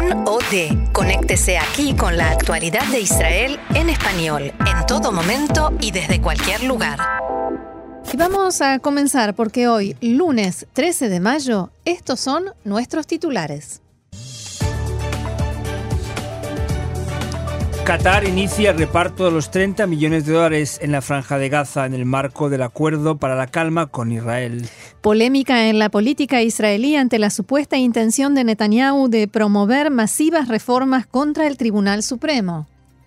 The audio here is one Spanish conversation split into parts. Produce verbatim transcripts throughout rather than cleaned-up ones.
Con o de. Conéctese aquí con la actualidad de Israel en español, en todo momento y desde cualquier lugar. Y vamos a comenzar porque hoy, lunes trece de mayo, estos son nuestros titulares. Qatar inicia el reparto de los treinta millones de dólares en la Franja de Gaza en el marco del acuerdo para la calma con Israel. Polémica en la política israelí ante la supuesta intención de Netanyahu de promover masivas reformas contra el Tribunal Supremo.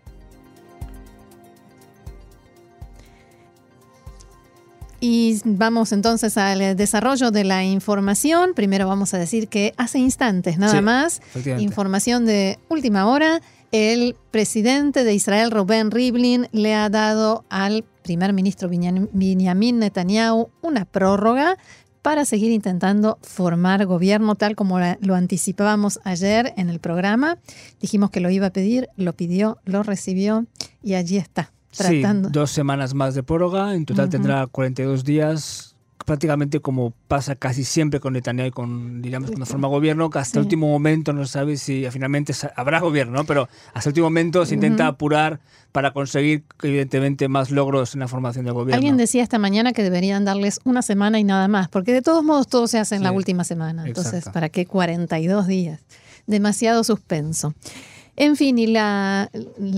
Y vamos entonces al desarrollo de la información. Primero vamos a decir que hace instantes nada sí, más, información de última hora, el presidente de Israel, Reuven Rivlin, le ha dado al primer ministro Benjamin Netanyahu una prórroga para seguir intentando formar gobierno, tal como lo anticipábamos ayer en el programa. Dijimos que lo iba a pedir, lo pidió, lo recibió y allí está. Tratando. Sí, dos semanas más de prórroga, en total uh-huh. tendrá cuarenta y dos días, prácticamente como pasa casi siempre con Netanyahu y con, diríamos, cuando forma gobierno, que hasta sí. el último momento no se sabe si finalmente habrá gobierno, ¿no? Pero hasta el último momento se intenta uh-huh. apurar para conseguir, evidentemente, más logros en la formación del gobierno. Alguien decía esta mañana que deberían darles una semana y nada más, porque de todos modos todo se hace en sí, la última semana. Entonces, exacto. ¿Para qué cuarenta y dos días? Demasiado suspenso. En fin, y la,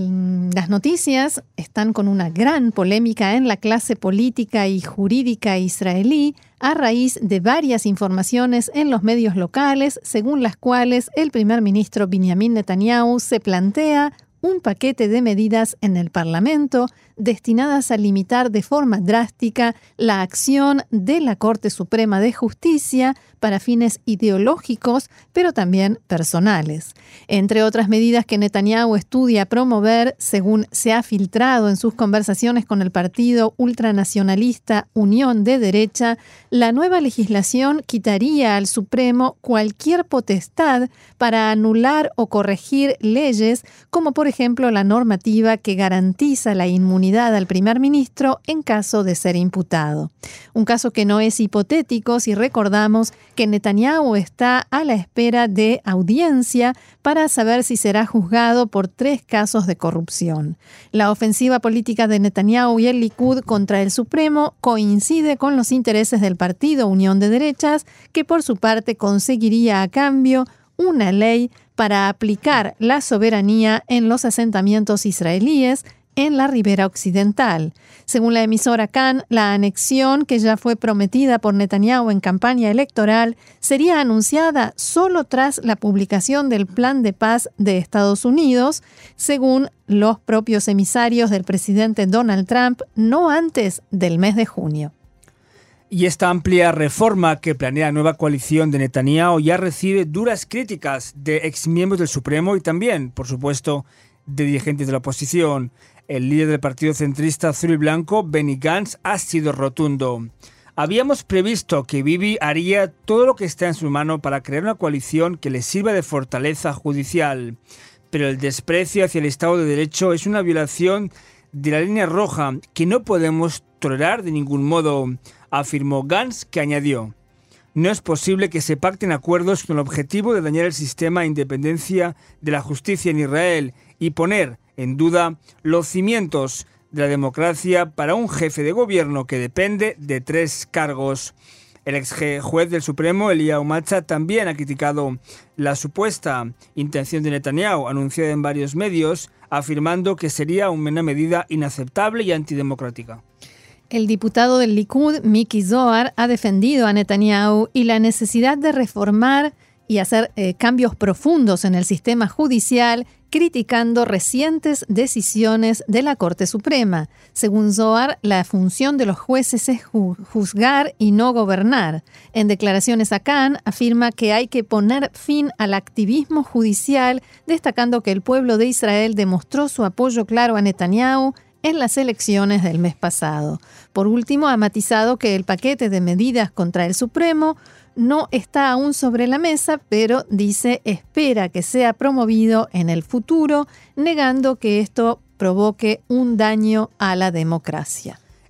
las noticias están con una gran polémica en la clase política y jurídica israelí a raíz de varias informaciones en los medios locales, según las cuales el primer ministro Benjamin Netanyahu se plantea un paquete de medidas en el Parlamento destinadas a limitar de forma drástica la acción de la Corte Suprema de Justicia para fines ideológicos, pero también personales. Entre otras medidas que Netanyahu estudia promover, según se ha filtrado en sus conversaciones con el partido ultranacionalista Unión de Derecha, la nueva legislación quitaría al Supremo cualquier potestad para anular o corregir leyes, como por ejemplo la normativa que garantiza la inmunidad al primer ministro en caso de ser imputado. Un caso que no es hipotético si recordamos que Netanyahu está a la espera de audiencia para saber si será juzgado por tres casos de corrupción. La ofensiva política de Netanyahu y el Likud contra el Supremo coincide con los intereses del partido Unión de Derechas, que por su parte conseguiría a cambio una ley para aplicar la soberanía en los asentamientos israelíes en la ribera occidental. Según la emisora Kan, la anexión, que ya fue prometida por Netanyahu en campaña electoral, sería anunciada solo tras la publicación del Plan de Paz de Estados Unidos, según los propios emisarios del presidente Donald Trump, no antes del mes de junio. Y esta amplia reforma que planea la nueva coalición de Netanyahu ya recibe duras críticas de exmiembros del Supremo y también, por supuesto, de dirigentes de la oposición. El líder del partido centrista azul y blanco, Benny Gantz, ha sido rotundo. Habíamos previsto que Bibi haría todo lo que está en su mano para crear una coalición que le sirva de fortaleza judicial. Pero el desprecio hacia el Estado de Derecho es una violación de la línea roja que no podemos tolerar de ningún modo, afirmó Gantz, que añadió: no es posible que se pacten acuerdos con el objetivo de dañar el sistema de independencia de la justicia en Israel y poner en duda los cimientos de la democracia para un jefe de gobierno que depende de tres cargos. El ex juez del Supremo, Eliyahu Matza, también ha criticado la supuesta intención de Netanyahu, anunciada en varios medios, afirmando que sería una medida inaceptable y antidemocrática. El diputado del Likud, Miki Zohar, ha defendido a Netanyahu y la necesidad de reformar y hacer eh, cambios profundos en el sistema judicial, criticando recientes decisiones de la Corte Suprema. Según Zohar, la función de los jueces es ju- juzgar y no gobernar. En declaraciones a Kan, afirma que hay que poner fin al activismo judicial, destacando que el pueblo de Israel demostró su apoyo claro a Netanyahu en las elecciones del mes pasado. Por último, ha matizado que el paquete de medidas contra el Supremo no está aún sobre la mesa, pero dice espera que sea promovido en el futuro, negando que esto provoque un daño a la democracia.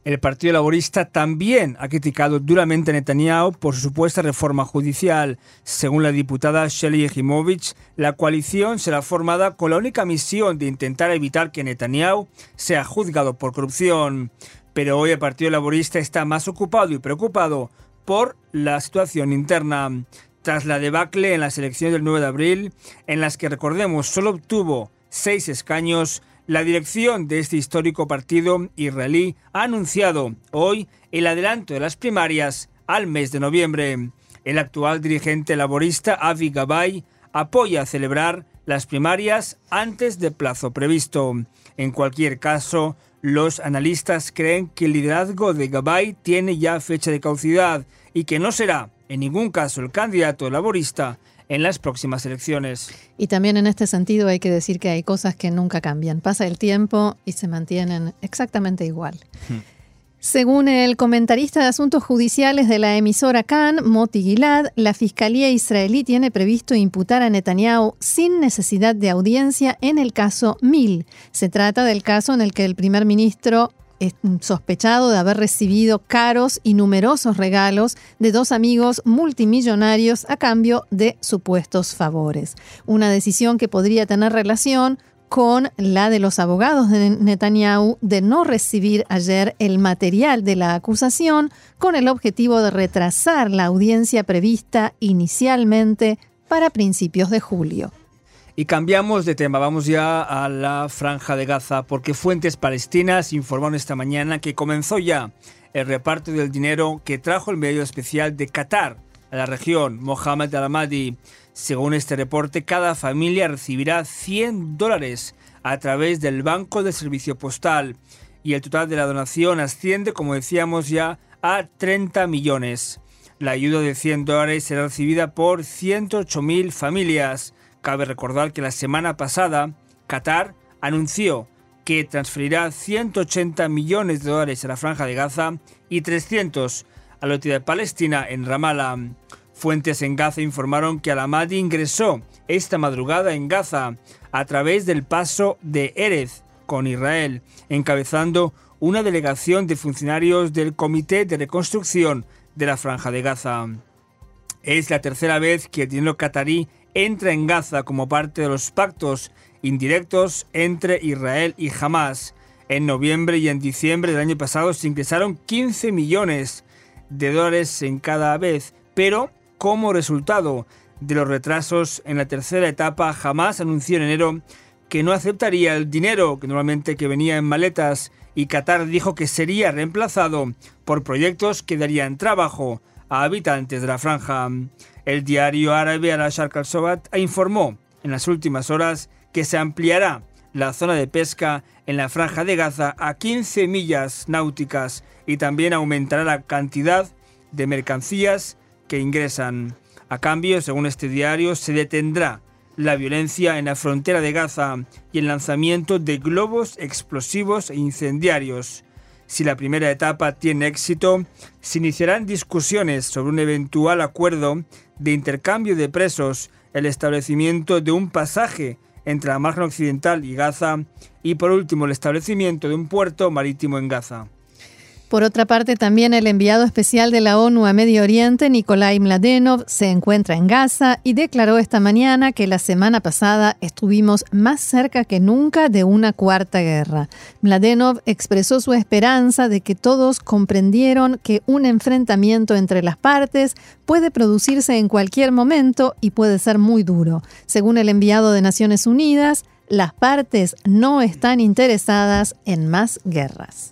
El Partido Laborista también ha criticado duramente a Netanyahu por su supuesta reforma judicial. Según la diputada Shelley Yefimowitz, la coalición será formada con la única misión de intentar evitar que Netanyahu sea juzgado por corrupción. Pero hoy el Partido Laborista está más ocupado y preocupado por la situación interna. Tras la debacle en las elecciones del nueve de abril, en las que, recordemos, solo obtuvo seis escaños, la dirección de este histórico partido israelí ha anunciado hoy el adelanto de las primarias al mes de noviembre. El actual dirigente laborista Avi Gabay apoya celebrar las primarias antes del plazo previsto. En cualquier caso, los analistas creen que el liderazgo de Gabay tiene ya fecha de caducidad y que no será, en ningún caso, el candidato laborista en las próximas elecciones. Y también en este sentido hay que decir que hay cosas que nunca cambian. Pasa el tiempo y se mantienen exactamente igual. Hmm. Según el comentarista de asuntos judiciales de la emisora Kan, Moti Gilad, la Fiscalía israelí tiene previsto imputar a Netanyahu sin necesidad de audiencia en el caso Mil. Se trata del caso en el que el primer ministro es sospechado de haber recibido caros y numerosos regalos de dos amigos multimillonarios a cambio de supuestos favores. Una decisión que podría tener relación con la de los abogados de Netanyahu de no recibir ayer el material de la acusación con el objetivo de retrasar la audiencia prevista inicialmente para principios de julio. Y cambiamos de tema, vamos ya a la Franja de Gaza, porque fuentes palestinas informaron esta mañana que comenzó ya el reparto del dinero que trajo el medio especial de Qatar a la región, Mohamed Al-Ahmadi. Según este reporte, cada familia recibirá cien dólares a través del Banco de Servicio Postal y el total de la donación asciende, como decíamos ya, a treinta millones. La ayuda de cien dólares será recibida por ciento ocho mil familias. Cabe recordar que la semana pasada Qatar anunció que transferirá ciento ochenta millones de dólares a la Franja de Gaza y trescientos a la Autoridad Palestina en Ramallah. Fuentes en Gaza informaron que Al-Ahmadi ingresó esta madrugada en Gaza a través del paso de Erez con Israel, encabezando una delegación de funcionarios del Comité de Reconstrucción de la Franja de Gaza. Es la tercera vez que el dinero catarí entra en Gaza como parte de los pactos indirectos entre Israel y Hamás. En noviembre y en diciembre del año pasado se ingresaron quince millones de dólares en cada vez, pero como resultado de los retrasos en la tercera etapa, Hamás anunció en enero que no aceptaría el dinero que normalmente que venía en maletas y Qatar dijo que sería reemplazado por proyectos que darían trabajo a habitantes de la franja. El diario árabe Al-Sharq Al-Sobat informó en las últimas horas que se ampliará la zona de pesca en la Franja de Gaza a quince millas náuticas y también aumentará la cantidad de mercancías que ingresan. A cambio, según este diario, se detendrá la violencia en la frontera de Gaza y el lanzamiento de globos explosivos e incendiarios. Si la primera etapa tiene éxito, se iniciarán discusiones sobre un eventual acuerdo de intercambio de presos, el establecimiento de un pasaje entre la margen occidental y Gaza y, por último, el establecimiento de un puerto marítimo en Gaza. Por otra parte, también el enviado especial de la ONU a Medio Oriente, Nikolai Mladenov, se encuentra en Gaza y declaró esta mañana que la semana pasada estuvimos más cerca que nunca de una cuarta guerra. Mladenov expresó su esperanza de que todos comprendieron que un enfrentamiento entre las partes puede producirse en cualquier momento y puede ser muy duro. Según el enviado de Naciones Unidas, las partes no están interesadas en más guerras.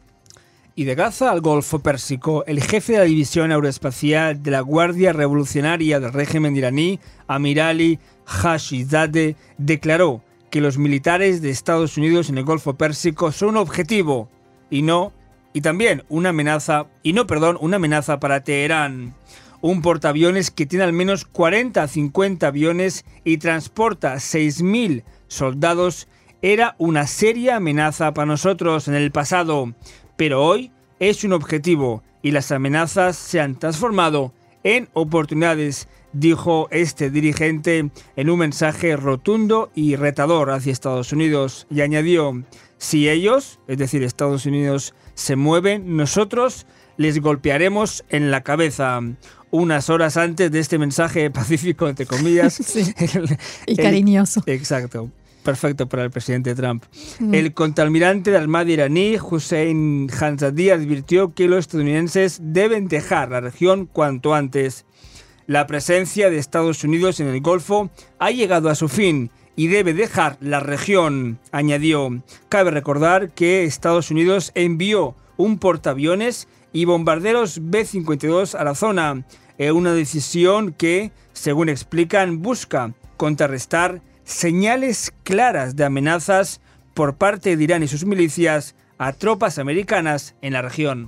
Y de Gaza al Golfo Pérsico, el jefe de la división aeroespacial de la Guardia Revolucionaria del régimen iraní, Amir Ali Hashizadeh, declaró que los militares de Estados Unidos en el Golfo Pérsico son un objetivo y no, y también una amenaza, y no, perdón, una amenaza para Teherán. Un portaaviones que tiene al menos cuarenta a cincuenta aviones y transporta seis mil soldados era una seria amenaza para nosotros en el pasado. Pero hoy es un objetivo y las amenazas se han transformado en oportunidades, dijo este dirigente en un mensaje rotundo y retador hacia Estados Unidos, y añadió: si ellos, es decir, Estados Unidos, se mueven, nosotros les golpearemos en la cabeza. Unas horas antes de este mensaje pacífico, entre comillas. Sí. El, y cariñoso. El, exacto. Perfecto para el presidente Trump. Mm. El contraalmirante de Armada iraní, Hussein Hanzadi, advirtió que los estadounidenses deben dejar la región cuanto antes. La presencia de Estados Unidos en el Golfo ha llegado a su fin y debe dejar la región, añadió. Cabe recordar que Estados Unidos envió un portaaviones y bombarderos B cincuenta y dos a la zona, una decisión que, según explican, busca contrarrestar señales claras de amenazas por parte de Irán y sus milicias a tropas americanas en la región.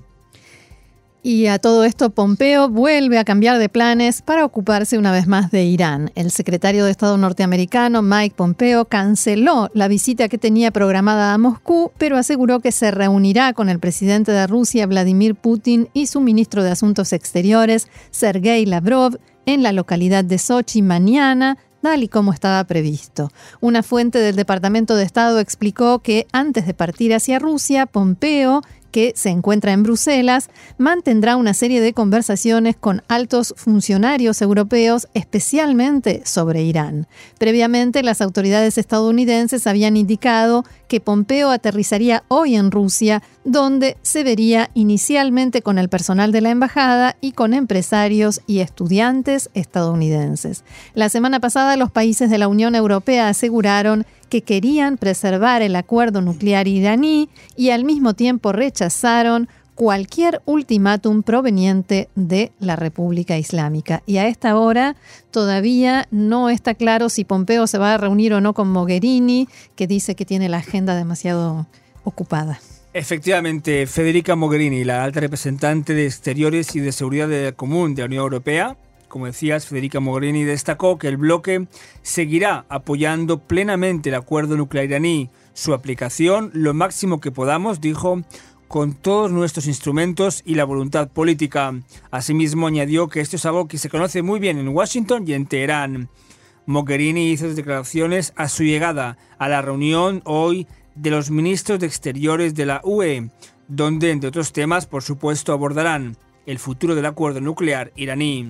Y a todo esto, Pompeo vuelve a cambiar de planes para ocuparse una vez más de Irán. El secretario de Estado norteamericano, Mike Pompeo, canceló la visita que tenía programada a Moscú, pero aseguró que se reunirá con el presidente de Rusia, Vladimir Putin, y su ministro de Asuntos Exteriores, Sergei Lavrov, en la localidad de Sochi mañana, tal y como estaba previsto. Una fuente del Departamento de Estado explicó que antes de partir hacia Rusia, Pompeo, que se encuentra en Bruselas, mantendrá una serie de conversaciones con altos funcionarios europeos, especialmente sobre Irán. Previamente, las autoridades estadounidenses habían indicado que Pompeo aterrizaría hoy en Rusia, donde se vería inicialmente con el personal de la embajada y con empresarios y estudiantes estadounidenses. La semana pasada, los países de la Unión Europea aseguraron que querían preservar el acuerdo nuclear iraní y al mismo tiempo rechazaron cualquier ultimátum proveniente de la República Islámica. Y a esta hora todavía no está claro si Pompeo se va a reunir o no con Mogherini, que dice que tiene la agenda demasiado ocupada. Efectivamente, Federica Mogherini, la alta representante de Exteriores y de Seguridad Común de la Unión Europea, como decías, Federica Mogherini destacó que el bloque seguirá apoyando plenamente el acuerdo nuclear iraní, su aplicación lo máximo que podamos, dijo, con todos nuestros instrumentos y la voluntad política. Asimismo, añadió que esto es algo que se conoce muy bien en Washington y en Teherán. Mogherini hizo declaraciones a su llegada a la reunión hoy de los ministros de Exteriores de la U E, donde, entre otros temas, por supuesto, abordarán el futuro del acuerdo nuclear iraní.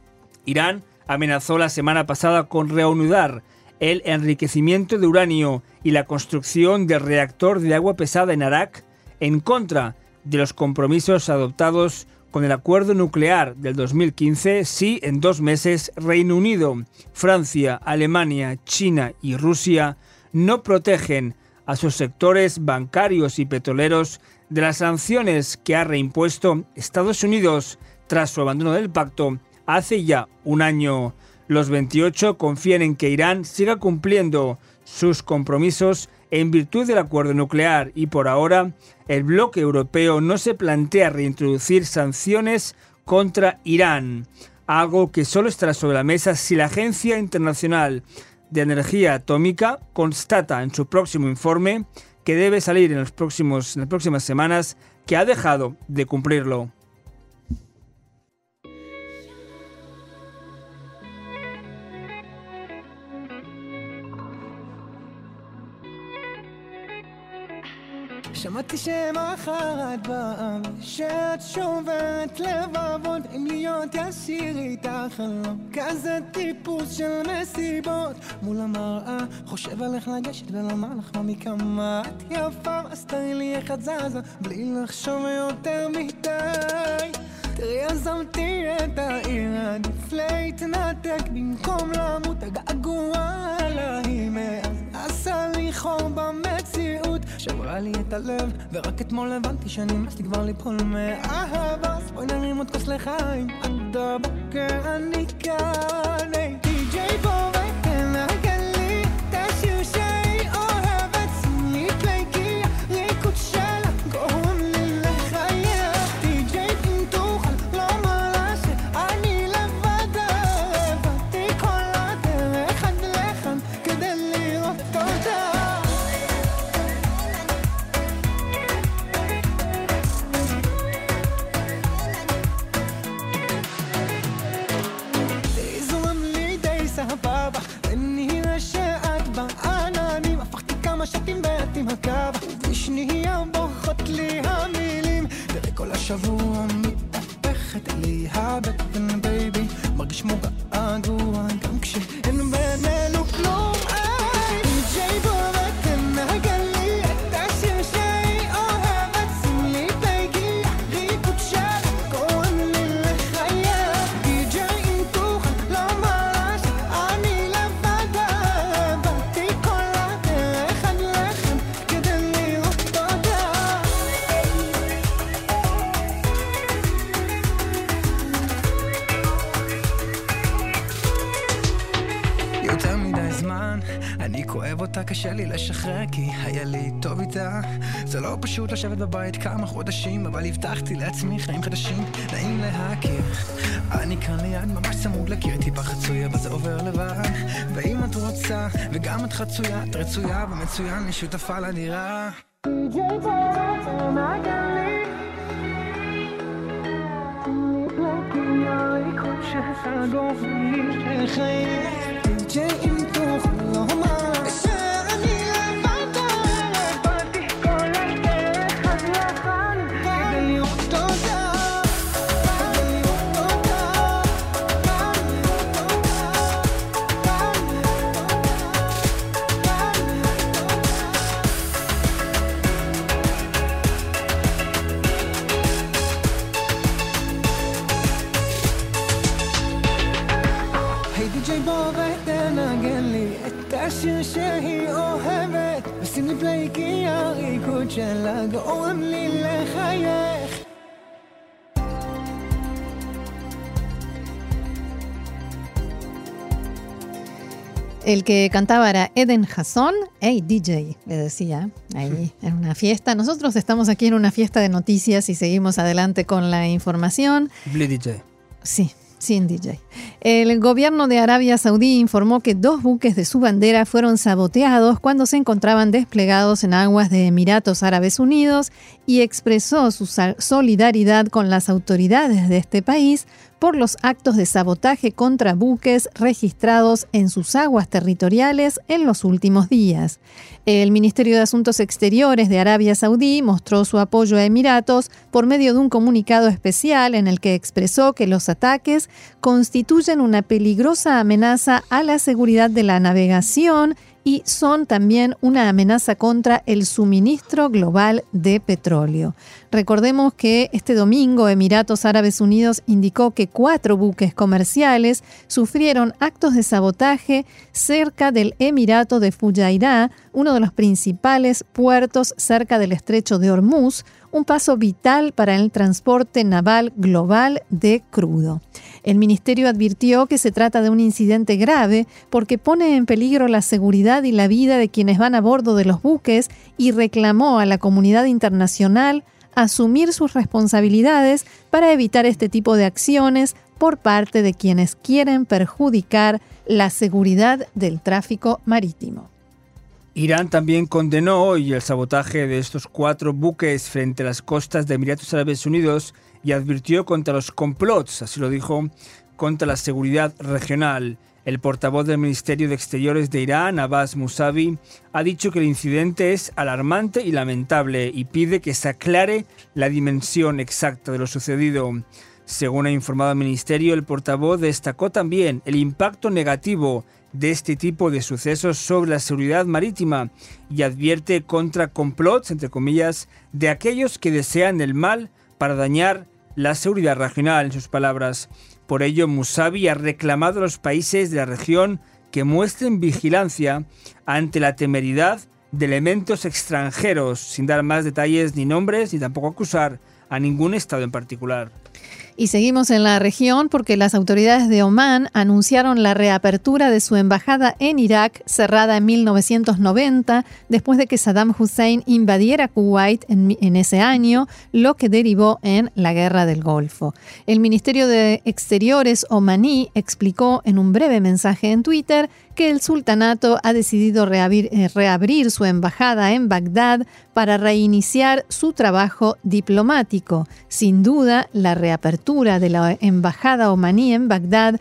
Irán amenazó la semana pasada con reanudar el enriquecimiento de uranio y la construcción del reactor de agua pesada en Arak en contra de los compromisos adoptados con el acuerdo nuclear del dos mil quince si en dos meses Reino Unido, Francia, Alemania, China y Rusia no protegen a sus sectores bancarios y petroleros de las sanciones que ha reimpuesto Estados Unidos tras su abandono del pacto hace ya un año. Los veintiocho confían en que Irán siga cumpliendo sus compromisos en virtud del acuerdo nuclear y por ahora el bloque europeo no se plantea reintroducir sanciones contra Irán, algo que solo estará sobre la mesa si la Agencia Internacional de Energía Atómica constata en su próximo informe, que debe salir en, los próximos, en las próximas semanas, que ha dejado de cumplirlo. שמעתי שם אחת בעם שאת שובת לבבות עם להיות ישיר איתך חלום כזה טיפוס של מסיבות מול המראה חושב עליך לגשת ולומר לך מה מכמה את יפה אז תראי לי איך את זזה בלי לחשוב יותר מדי תראי עזמתי את העיר עדיף להתנתק במקום למות הגעגוע עליי מאז עשה לי חור במציאות שברה לי את הלב ורק אתמול הבנתי שנמאס לי כבר ליפול מאהבה אז בואי נרים עוד כוס לחיים עד הבוקר אני כאן די-ג'יי בוא ותנגן לי את השיר שהיא אוהבת שים לי פליי כי הריקוד שלה גורם לי לחייך די-ג'יי אם תוכל לומר לה שאני לבד הבאתי כל הדרך עד לכאן כדי לראות אותה הקו ושנייה בוכות לי המילים תראה כל השבוע מתהפכת לי הבטן בייבי מרגיש כמו געגוע גם כשאין בינינו כלום איי די-ג'יי בוא ותנגן לי את השיר שהיא אוהבת שים לי פייגי ריקוד של קוראים לי לחייך די-ג'יי אם תוכל לומר לה שאני לבד באתי כל הדרך עד לכם כדי לראות תודה יותר מדי זמן אני כואב אותה קשה לי לשחרר כי היה לי טוב איתה זה לא פשוט לשבת בבית כמה חודשים אבל הבטחתי לעצמי חיים חדשים נעים להכיר אני כאן ליד ממש צמוד לקיר טיפה חצוי אבל זה עובר לבד ואם את רוצה וגם את חצויה את רצויה ומצוין לי שותפה לדירה די-ג'יי בוא תנגן לי אני הריקוד שסגור לי לחייך די-ג'יי אם תוכל לומר שאני לבד באתי כל הדרך עד לכאן כדי לראות תודה כדי לראות תודה כדי לראות תודה היי די-ג'יי בוא ותנגן לי את השיר שהיא אוהבת ושים לי פליי כי הריקוד שלה גורם לי לחייך El que cantaba era Eden Hason. Hey, D J, le decía, ahí en una fiesta. Nosotros estamos aquí en una fiesta de noticias y seguimos adelante con la información. Bli D J. Sí, sin D J. El gobierno de Arabia Saudí informó que dos buques de su bandera fueron saboteados cuando se encontraban desplegados en aguas de Emiratos Árabes Unidos y expresó su solidaridad con las autoridades de este país por los actos de sabotaje contra buques registrados en sus aguas territoriales en los últimos días. El Ministerio de Asuntos Exteriores de Arabia Saudí mostró su apoyo a Emiratos por medio de un comunicado especial en el que expresó que los ataques constituyen una peligrosa amenaza a la seguridad de la navegación y son también una amenaza contra el suministro global de petróleo. Recordemos que este domingo Emiratos Árabes Unidos indicó que cuatro buques comerciales sufrieron actos de sabotaje cerca del Emirato de Fujairah, uno de los principales puertos cerca del estrecho de Hormuz, un paso vital para el transporte naval global de crudo. El ministerio advirtió que se trata de un incidente grave porque pone en peligro la seguridad y la vida de quienes van a bordo de los buques y reclamó a la comunidad internacional asumir sus responsabilidades para evitar este tipo de acciones por parte de quienes quieren perjudicar la seguridad del tráfico marítimo. Irán también condenó hoy el sabotaje de estos cuatro buques frente a las costas de Emiratos Árabes Unidos y advirtió contra los complots, así lo dijo, contra la seguridad regional. El portavoz del Ministerio de Exteriores de Irán, Abbas Mousavi, ha dicho que el incidente es alarmante y lamentable y pide que se aclare la dimensión exacta de lo sucedido. Según ha informado el Ministerio, el portavoz destacó también el impacto negativo de este tipo de sucesos sobre la seguridad marítima y advierte contra complots, entre comillas, de aquellos que desean el mal para dañar la seguridad regional, en sus palabras. Por ello, Mousavi ha reclamado a los países de la región que muestren vigilancia ante la temeridad de elementos extranjeros, sin dar más detalles ni nombres, ni tampoco acusar a ningún estado en particular. Y seguimos en la región porque las autoridades de Omán anunciaron la reapertura de su embajada en Irak, cerrada en mil novecientos noventa, después de que Saddam Hussein invadiera Kuwait en, en ese año, lo que derivó en la Guerra del Golfo. El Ministerio de Exteriores omaní explicó en un breve mensaje en Twitter que el sultanato ha decidido reabrir, eh, reabrir su embajada en Bagdad para reiniciar su trabajo diplomático. Sin duda, la reapertura de la embajada omaní en Bagdad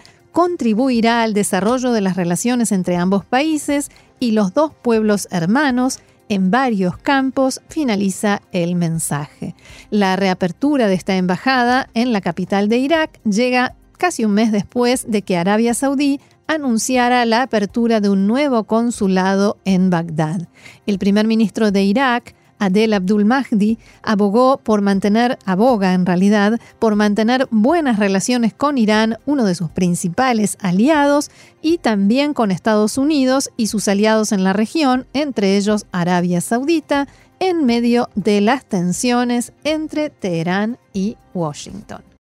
contribuirá al desarrollo de las relaciones entre ambos países y los dos pueblos hermanos en varios campos, finaliza el mensaje. La reapertura de esta embajada en la capital de Irak llega casi un mes después de que Arabia Saudí anunciara la apertura de un nuevo consulado en Bagdad. El primer ministro de Irak, Adel Abdul Mahdi, abogó por mantener, aboga en realidad, por mantener buenas relaciones con Irán, uno de sus principales aliados, y también con Estados Unidos y sus aliados en la región, entre ellos Arabia Saudita, en medio de las tensiones entre Teherán y Washington.